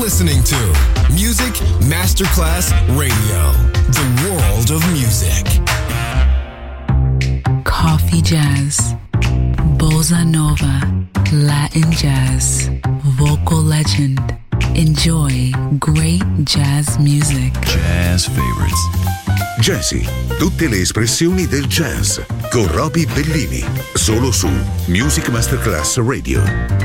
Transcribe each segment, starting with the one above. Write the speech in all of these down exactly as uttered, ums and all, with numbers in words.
listening to Music Masterclass Radio, the world of music. Coffee jazz, bossa nova, Latin jazz, vocal legend. Enjoy great jazz music. Jazz favorites. Jazzy, tutte le espressioni del jazz con Roby Bellini, solo su Music Masterclass Radio.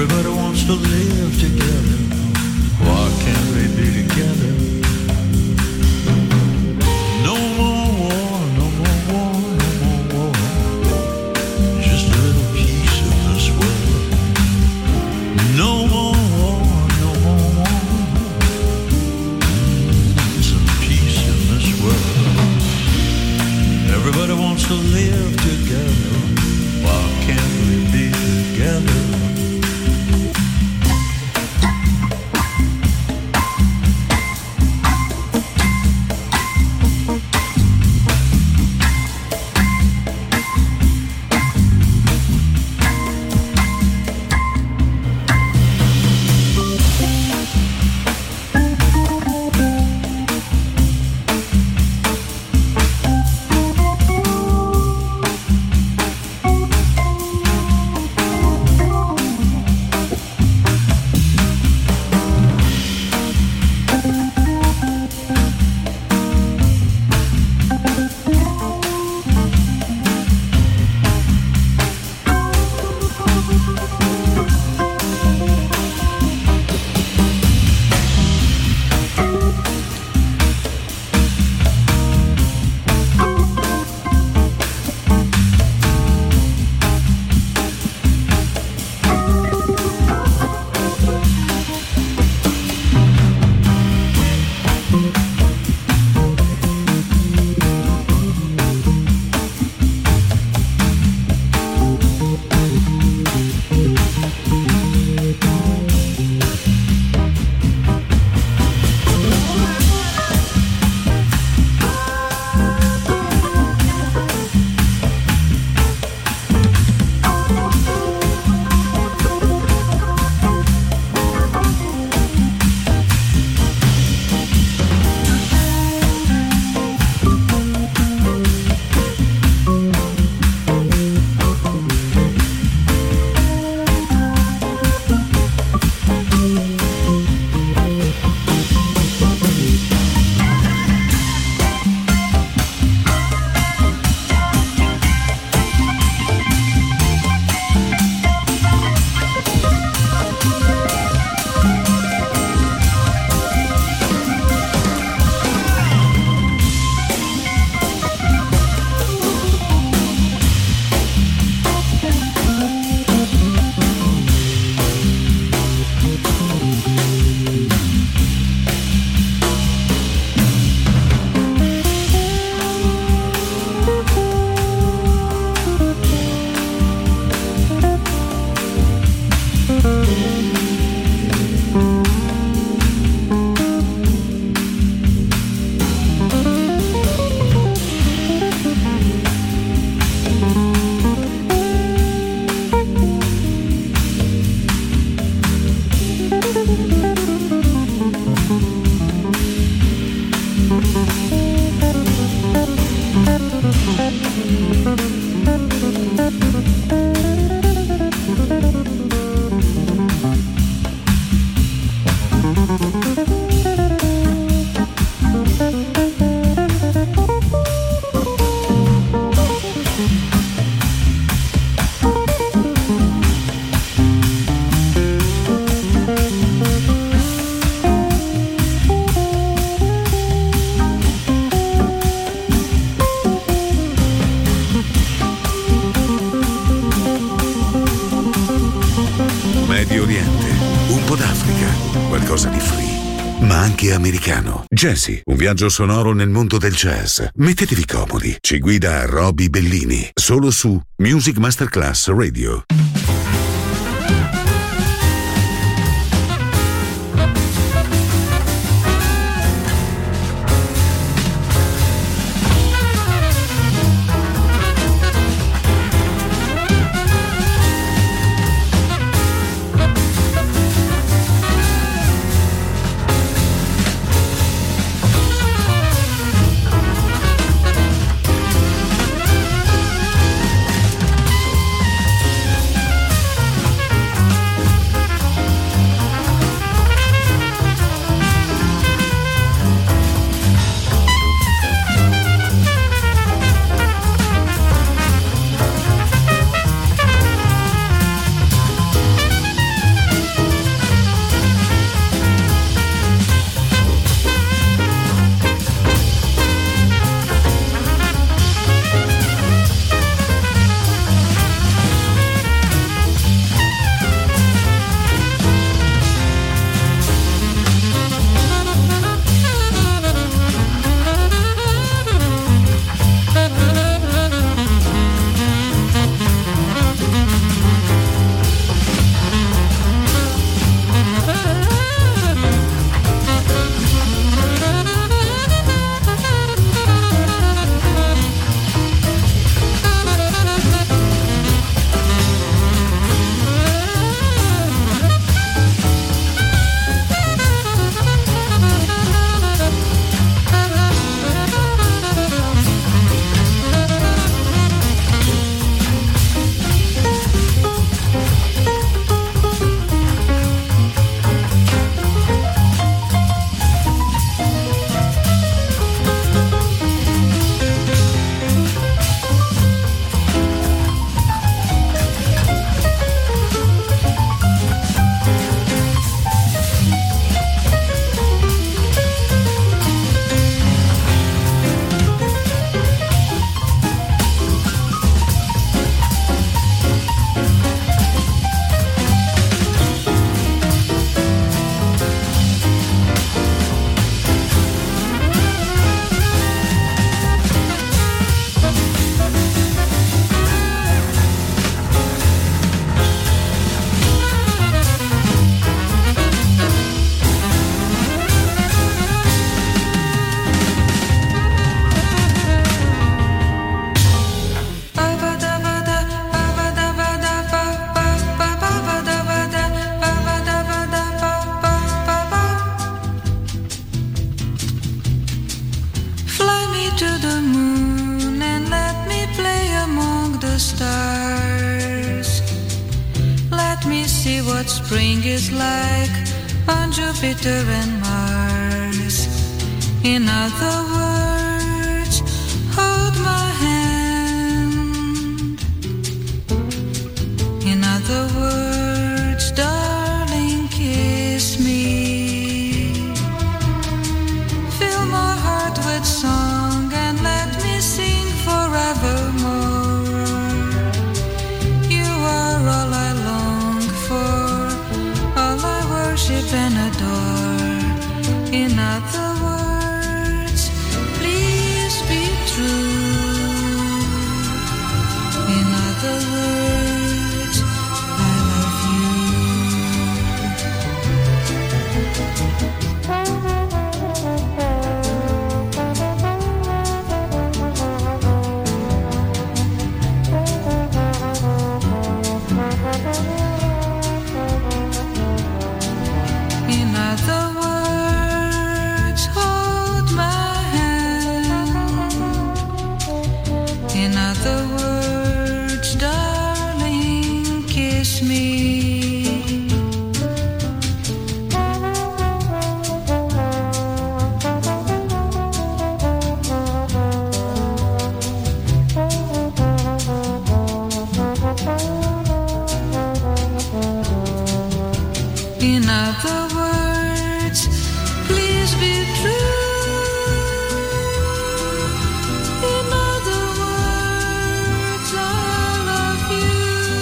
Everybody wants to live together. Why can't we be together? No more war, no more war, no more war. Just a little piece of this world. No more war, no more war. Some peace in this world. Everybody wants to live together. Why can't we be together? Americano. Jazzy, un viaggio sonoro nel mondo del jazz. Mettetevi comodi. Ci guida Roby Bellini, solo su Music Masterclass Radio. let me see what spring is like on Jupiter and Mars. In other words, hold my hand. In other words, darling, kiss me. Fill my heart with song and let me sing forevermore. You are all I long for, all I worship and adore. In other words, please be true. In other words, I love you. In other words, hold my hand. In other words, darling, kiss me. In other words, please be true. In other words, I love you.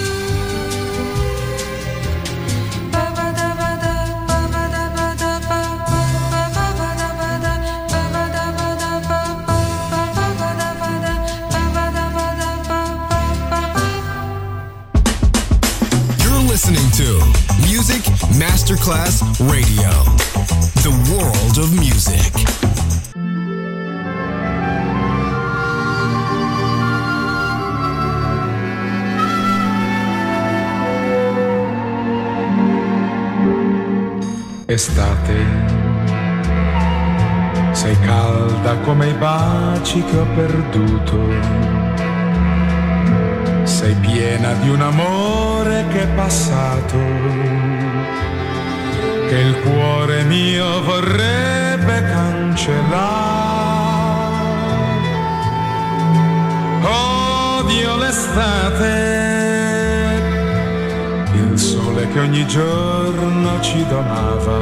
Ba ba da ba da, ba ba da ba da ba, ba ba ba da ba da, ba ba da ba da ba, ba ba ba da ba da, ba ba da ba da ba, ba ba. You're listening to Music Masterclass Radio, the world of music. Estate, sei calda come i baci che ho perduto, sei piena di un amore che è passato, che il cuore mio vorrebbe cancellare. Odio l'estate, il sole che ogni giorno ci donava,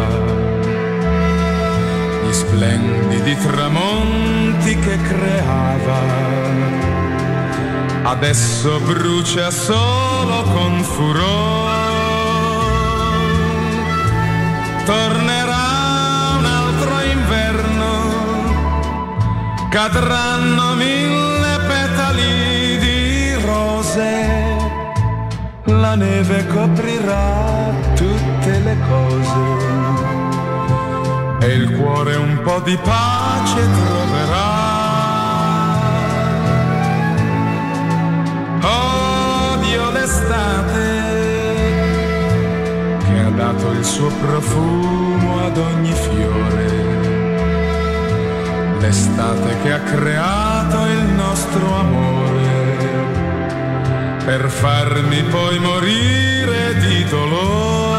gli splendidi tramonti che creava. Adesso brucia solo con furore. Tornerà un altro inverno, cadranno mille petali di rose, la neve coprirà tutte le cose e il cuore un po' di pace troverà. Odio l'estate che ha dato il suo profumo ad ogni fiore, l'estate che ha creato il nostro amore per farmi poi morire di dolore.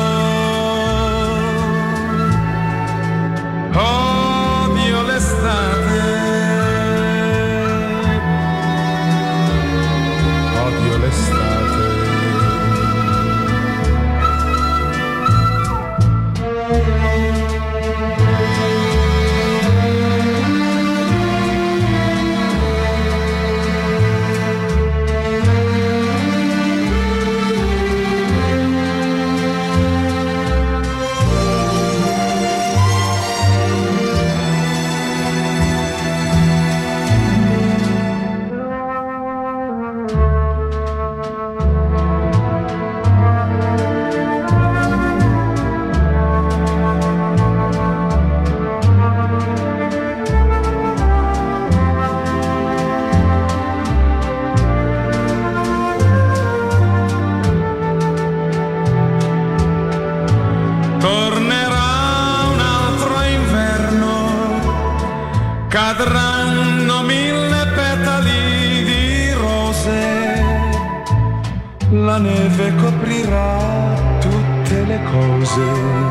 Odio l'estate, odio l'estate. cadranno mille petali di rose, la neve coprirà cose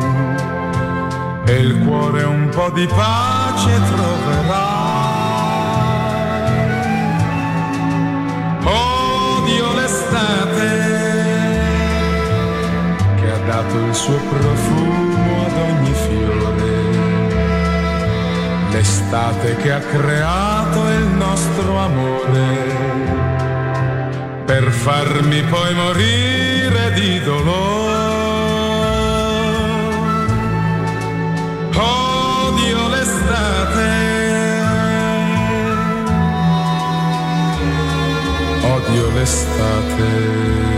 e il cuore un po' di pace troverà. Odio l'estate che ha dato il suo profumo ad ogni fiore, l'estate che ha creato il nostro amore per farmi poi morire di dolore. Odio l'estate, odio l'estate.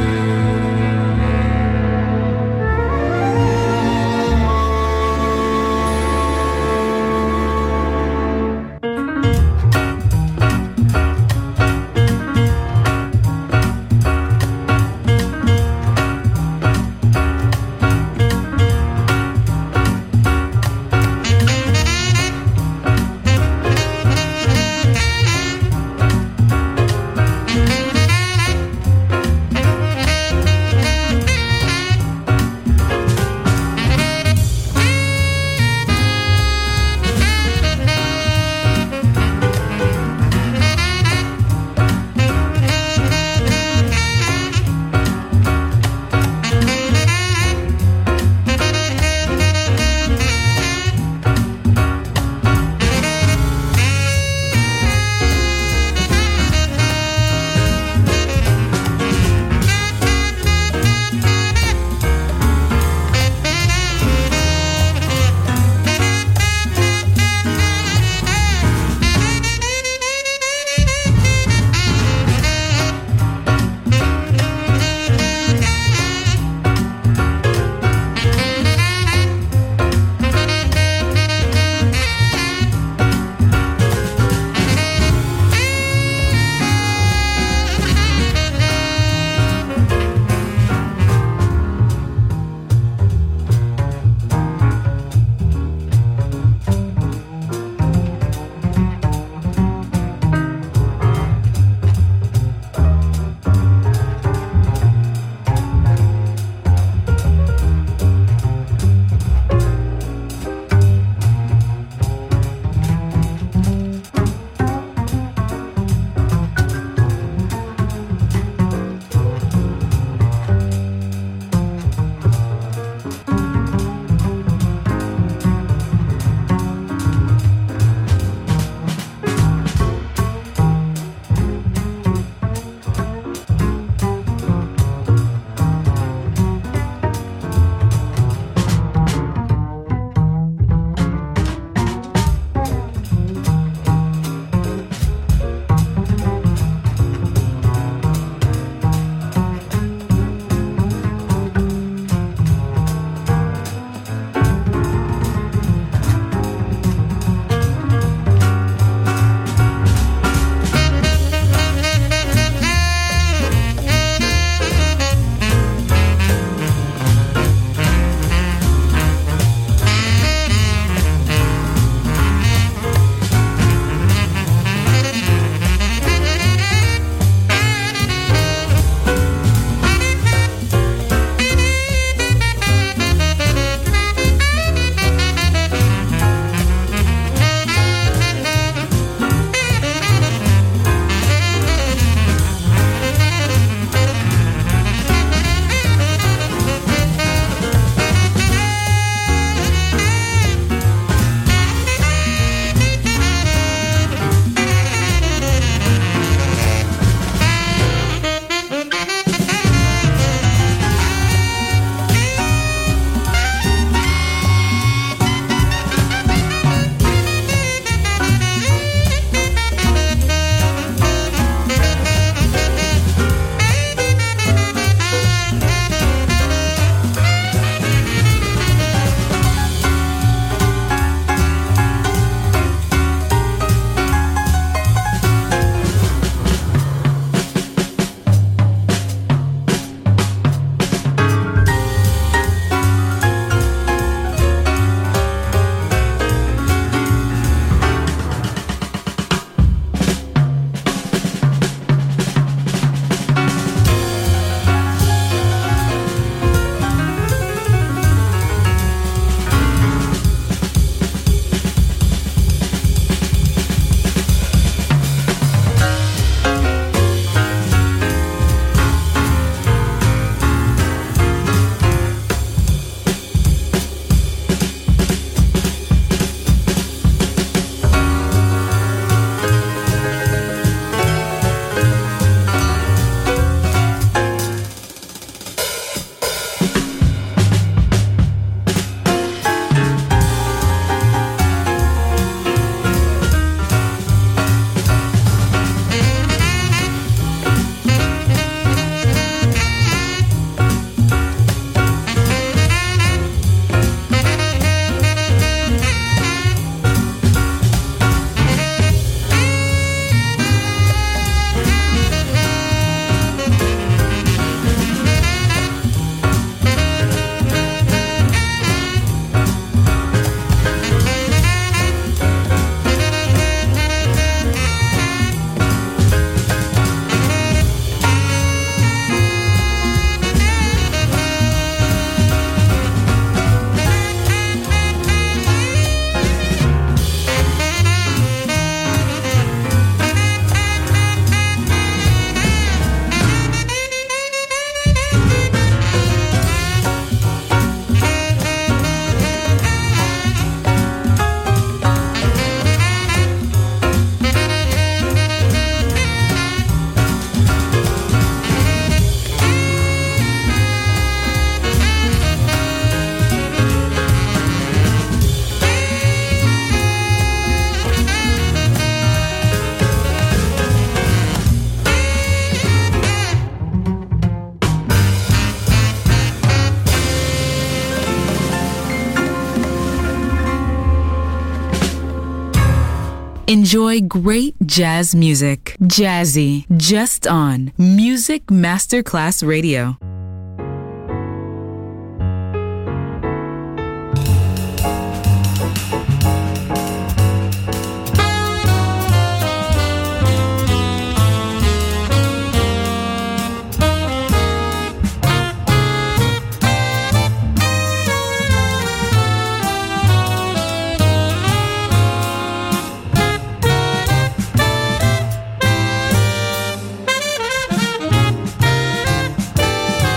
Enjoy great jazz music. Jazzy, just on Music Masterclass Radio. Thank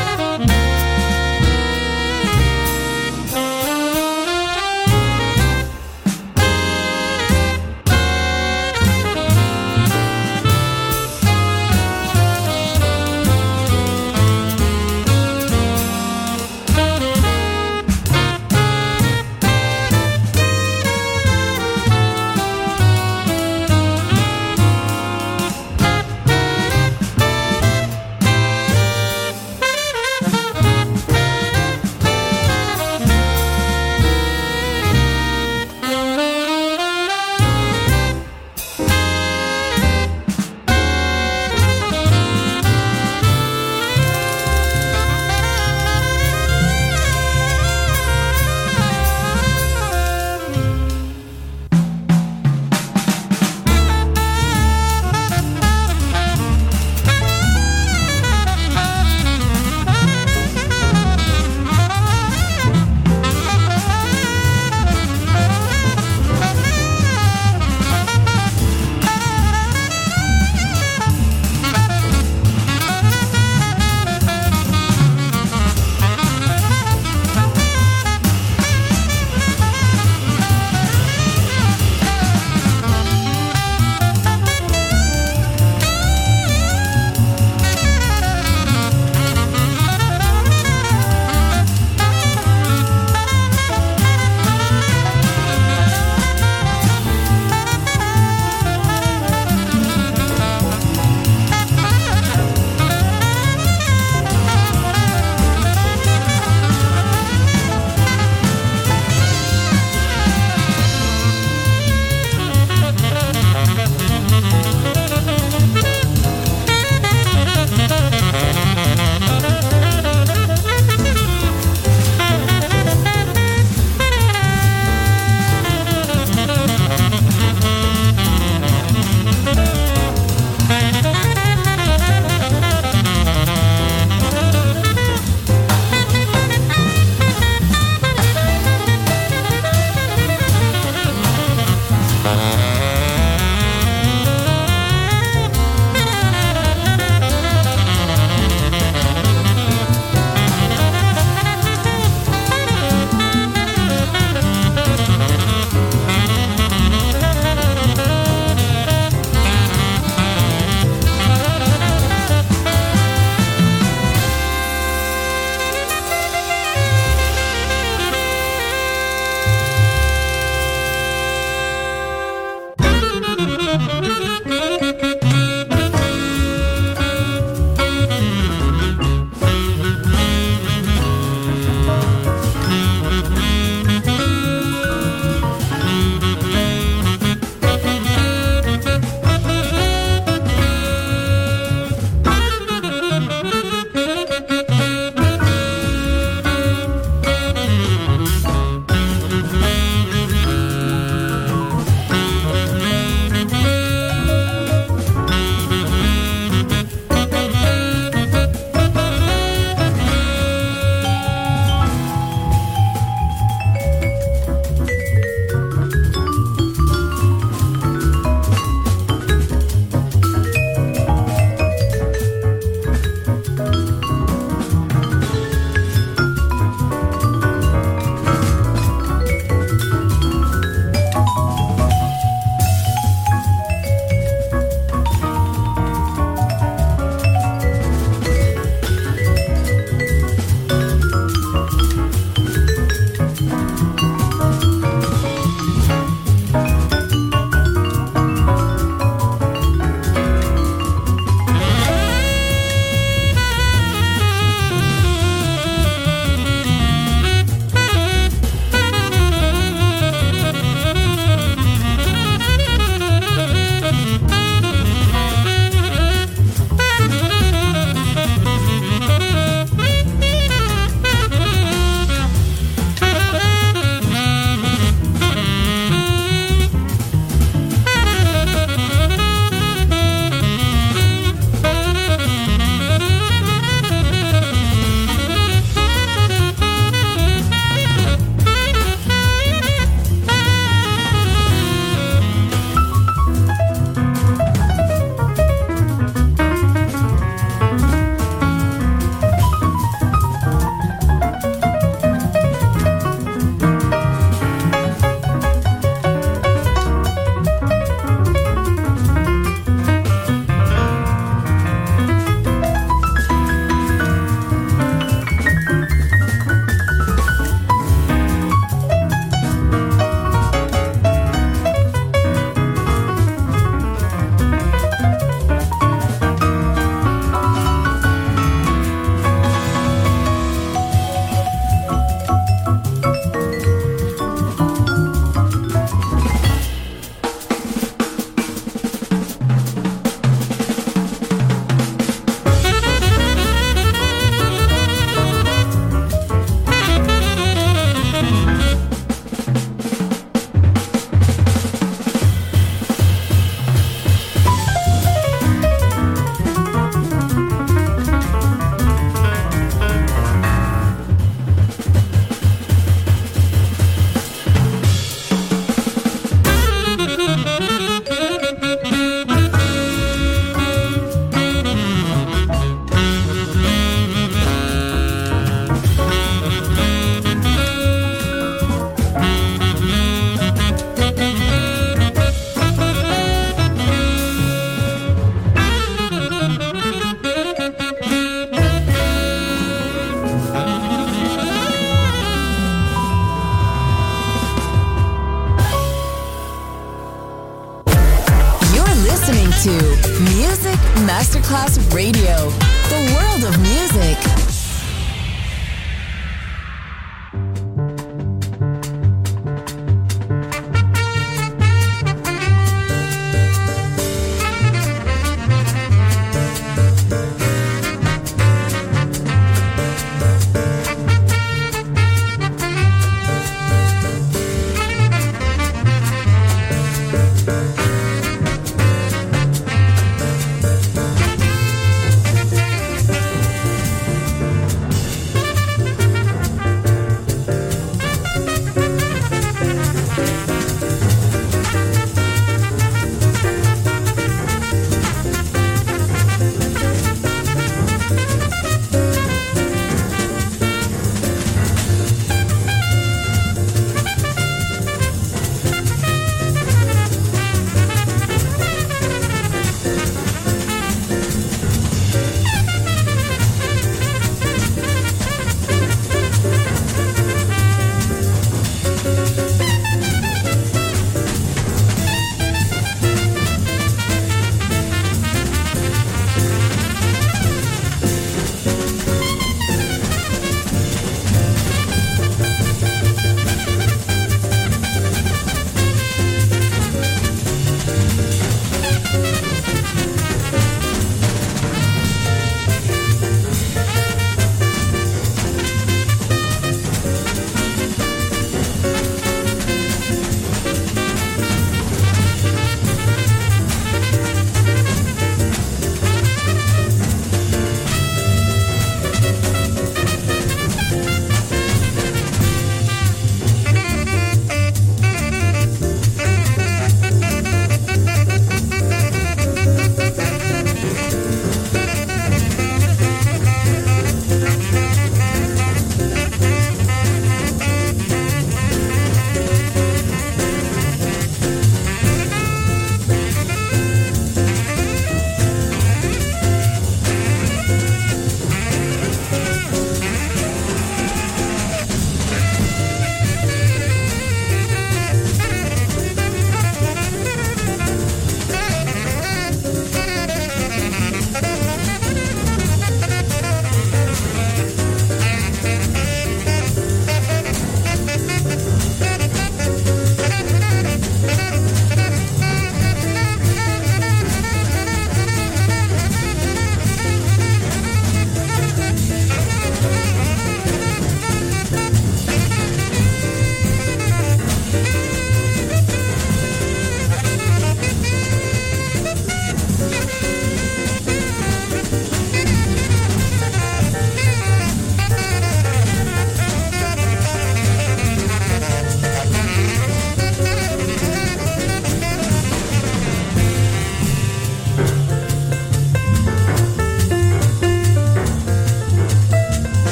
Music Masterclass Radio. The world of music.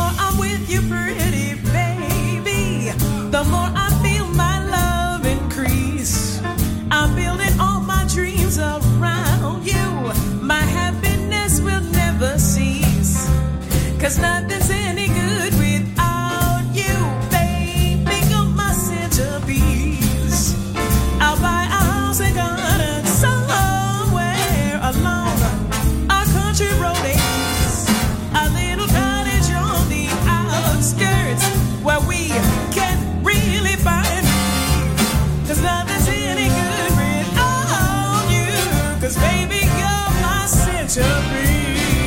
more I'm with you, pretty baby, the more I feel my love increase. I'm building all my dreams around you. My happiness will never cease. 'Cause nothing's any good without you, baby. You're my centerpiece. I'll buy a house and garden somewhere along our country roadies. A little cottage on the outskirts where we can really find me. 'Cause nothing's any good without you. 'Cause baby, you're my centerpiece.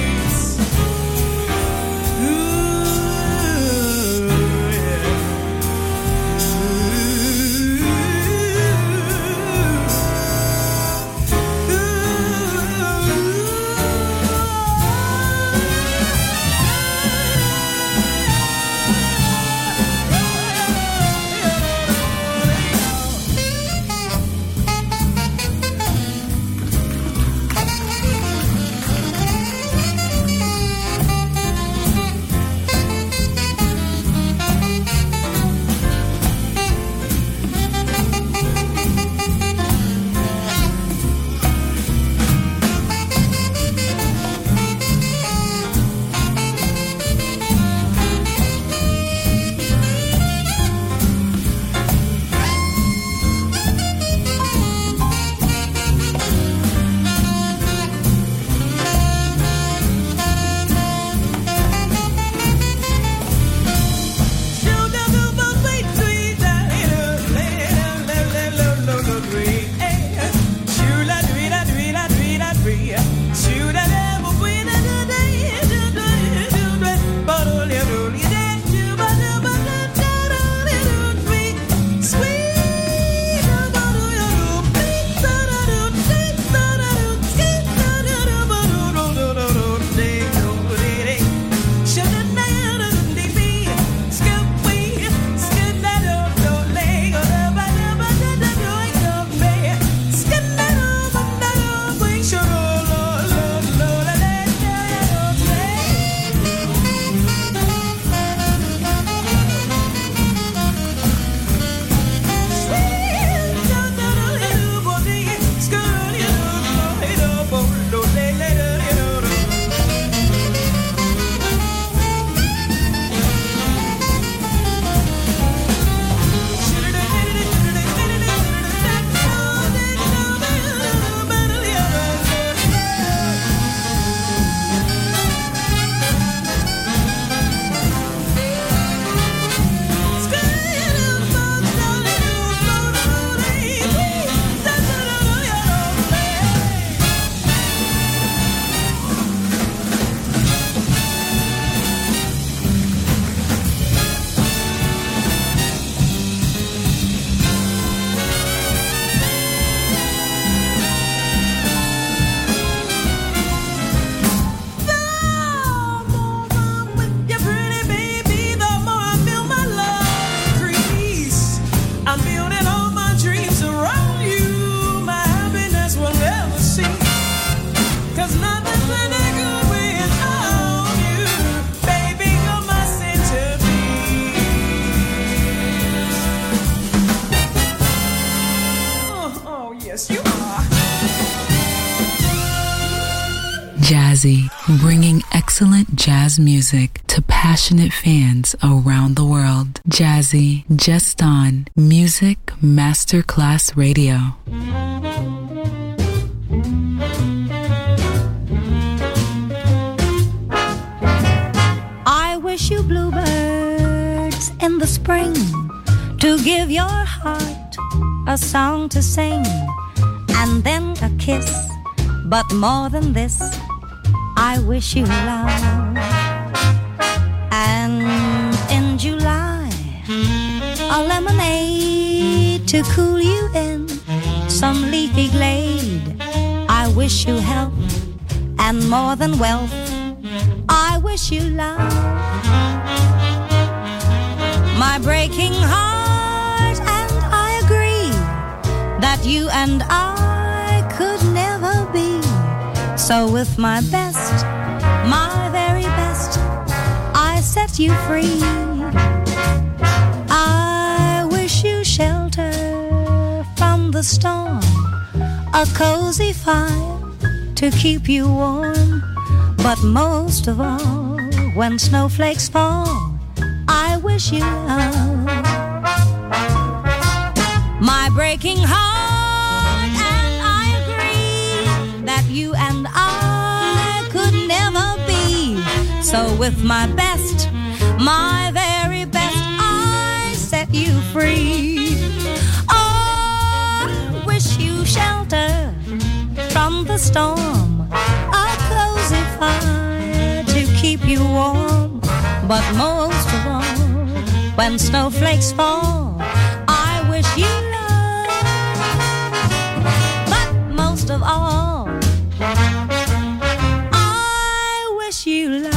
Jazzy, bringing excellent jazz music to passionate fans around the world. Jazzy, just on Music Masterclass Radio. I wish you bluebirds in the spring to give your heart a song to sing, and then a kiss. But more than this, I wish you love. And in July, a lemonade to cool you in some leafy glade. I wish you health and more than wealth. I wish you love. My breaking heart and I agree that you and I could never be. So with my best, my very best, I say set you free. I wish you shelter from the storm, a cozy fire to keep you warm. But most of all, when snowflakes fall, I wish you love. My breaking heart, and I agree that you and I could never be. So with my best, my very best, I set you free. Oh, I wish you shelter from the storm, a cozy fire to keep you warm. But most of all, when snowflakes fall, I wish you love. But most of all, I wish you love.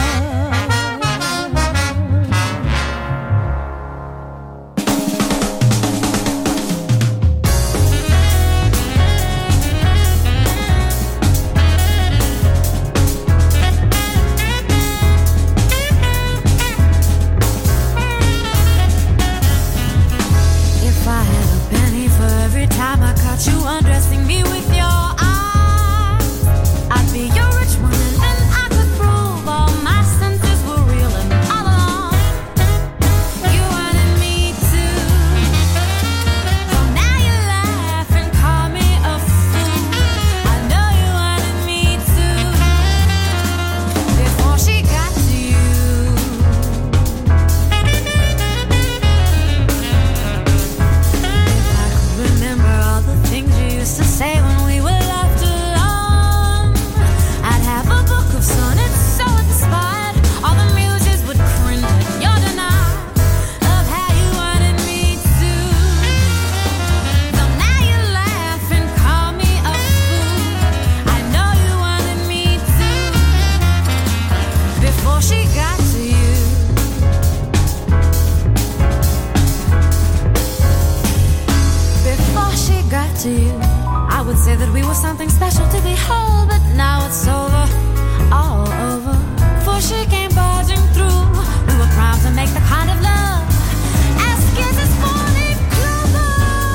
Time I caught you undressing me with your eyes, I'd be your rich one, and then I could prove all my senses were real and all along you wanted me to. So now you laugh and call me a fool. I know you wanted me to before she got to you. Remember all the things you used to say when we were left alone. I'd have a book of sonnets so inspired, all the muses would cringe at your denial of how you wanted me to. So now you laugh and call me a fool. I know you wanted me to before she got to you. Before she got to you, I would say that we were something special to behold, but now it's over, all over. Before she came barging through, we were primed to make the kind of love as kisses falling clover.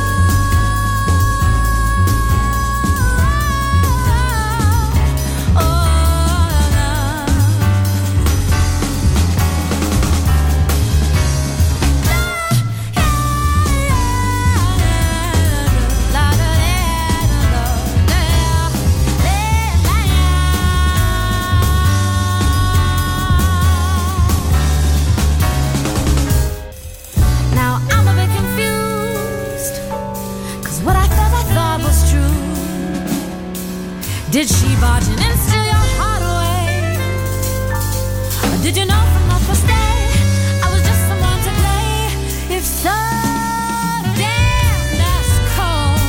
Oh, love. Now I'm a bit confused, 'cause what I thought I thought was true. Did she barge in and steal your heart away? Or did you know from the first day I was just someone to play? If so, damn, that's cold.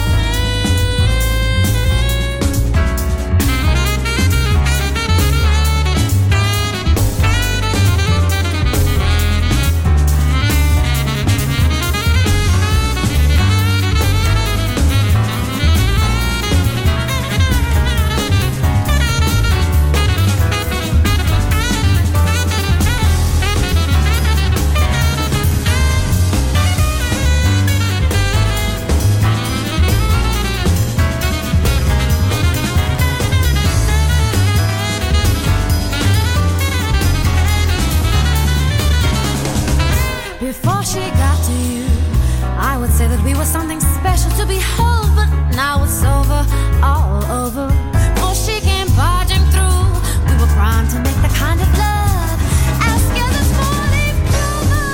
Before she got to you, I would say that we were something special to behold, but now it's over, all over. Before she came barging through, we were primed to make the kind of love as scared as falling clover.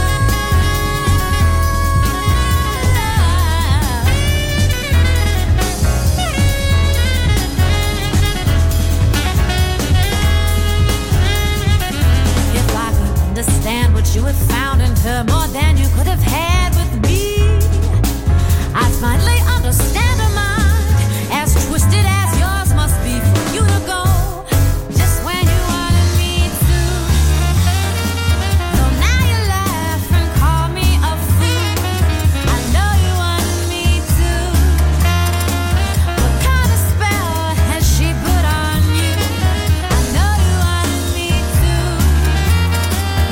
If I could understand what you had found in her more than you could have had with me, I'd finally understand her mind, as twisted as yours must be for you to go just when you wanted me to. So now you laugh and call me a fool. I know you wanted me to. What kind of spell has she put on you? I know you wanted me to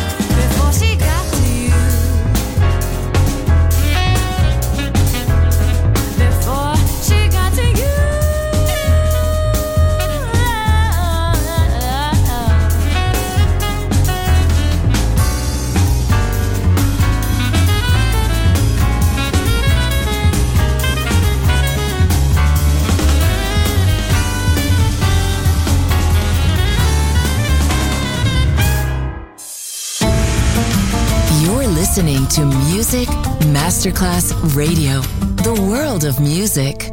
listening to Music Masterclass Radio, the world of music.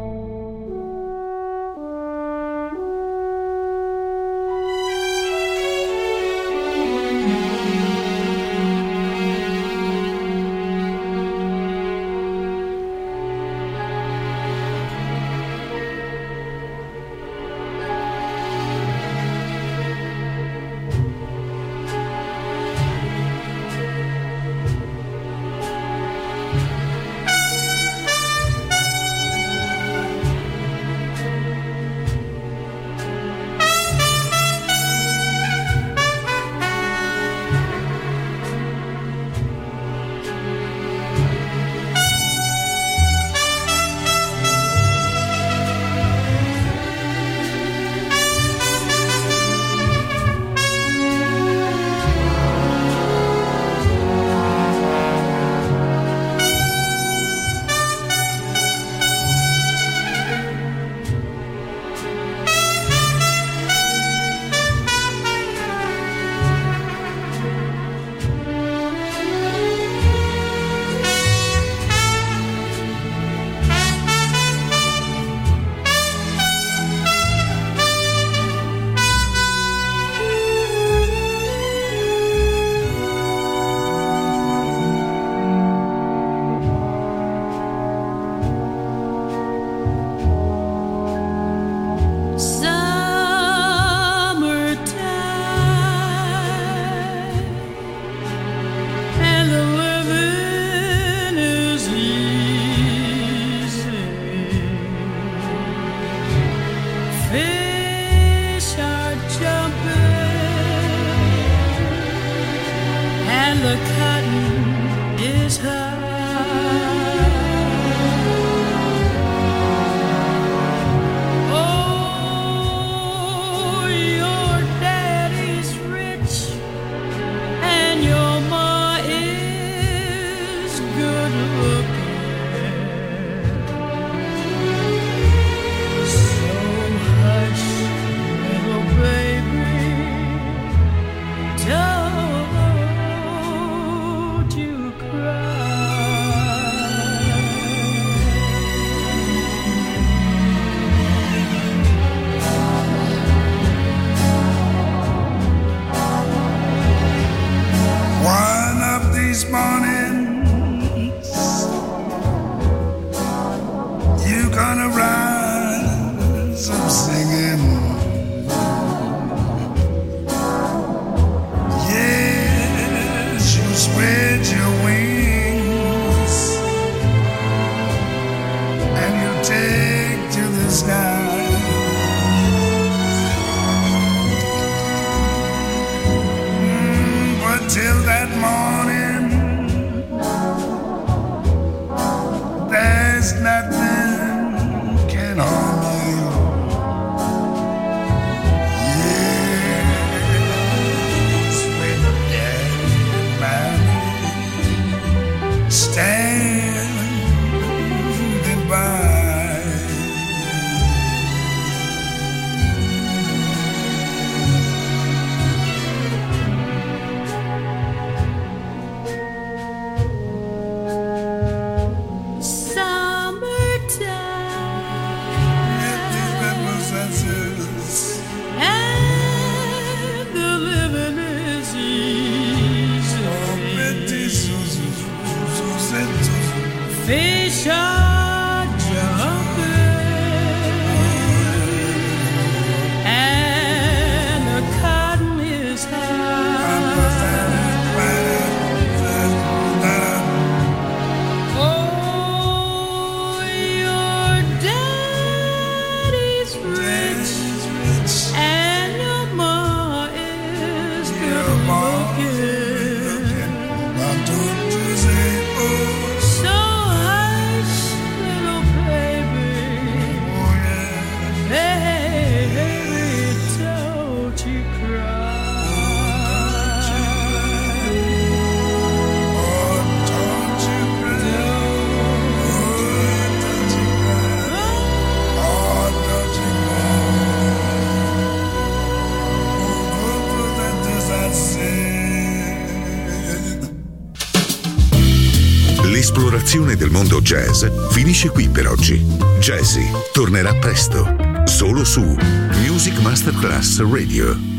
L'esplorazione del mondo jazz finisce qui per oggi. Jazzy tornerà presto, solo su Music Masterclass Radio.